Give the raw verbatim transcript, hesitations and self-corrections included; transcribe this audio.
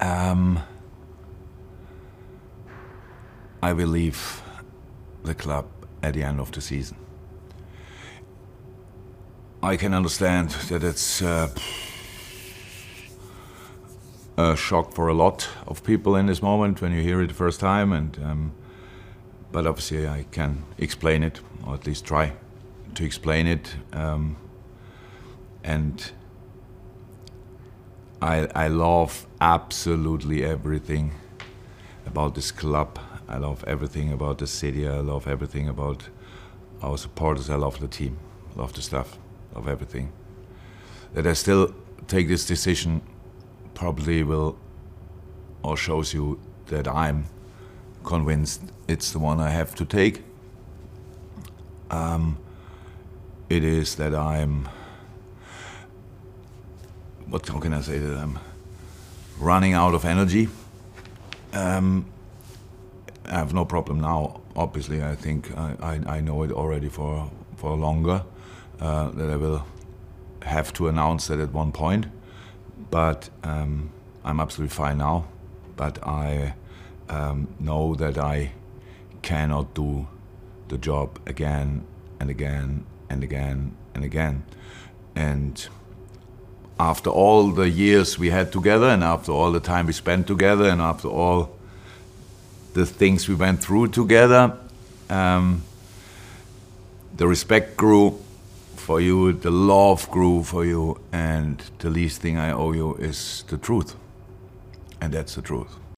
Um, I will leave the club at the end of the season. I can understand that it's uh, a shock for a lot of people in this moment when you hear it the first time, and um, but obviously I can explain it, or at least try to explain it. Um, and I, I love absolutely everything about this club. I love everything about the city. I love everything about our supporters. I love the team. I love the staff. I love everything. That I still take this decision probably will, or shows you that I'm convinced it's the one I have to take. Um, it is that I'm, what how can I say, that I'm running out of energy. Um, I have no problem now. Obviously, I think I, I, I know it already for for longer, uh, that I will have to announce that at one point. But um, I'm absolutely fine now. But I um, know that I cannot do the job again and again and again and again. And after all the years we had together, and after all the time we spent together, and after all the things we went through together, um, the respect grew for you, the love grew for you, and the least thing I owe you is the truth. And that's the truth.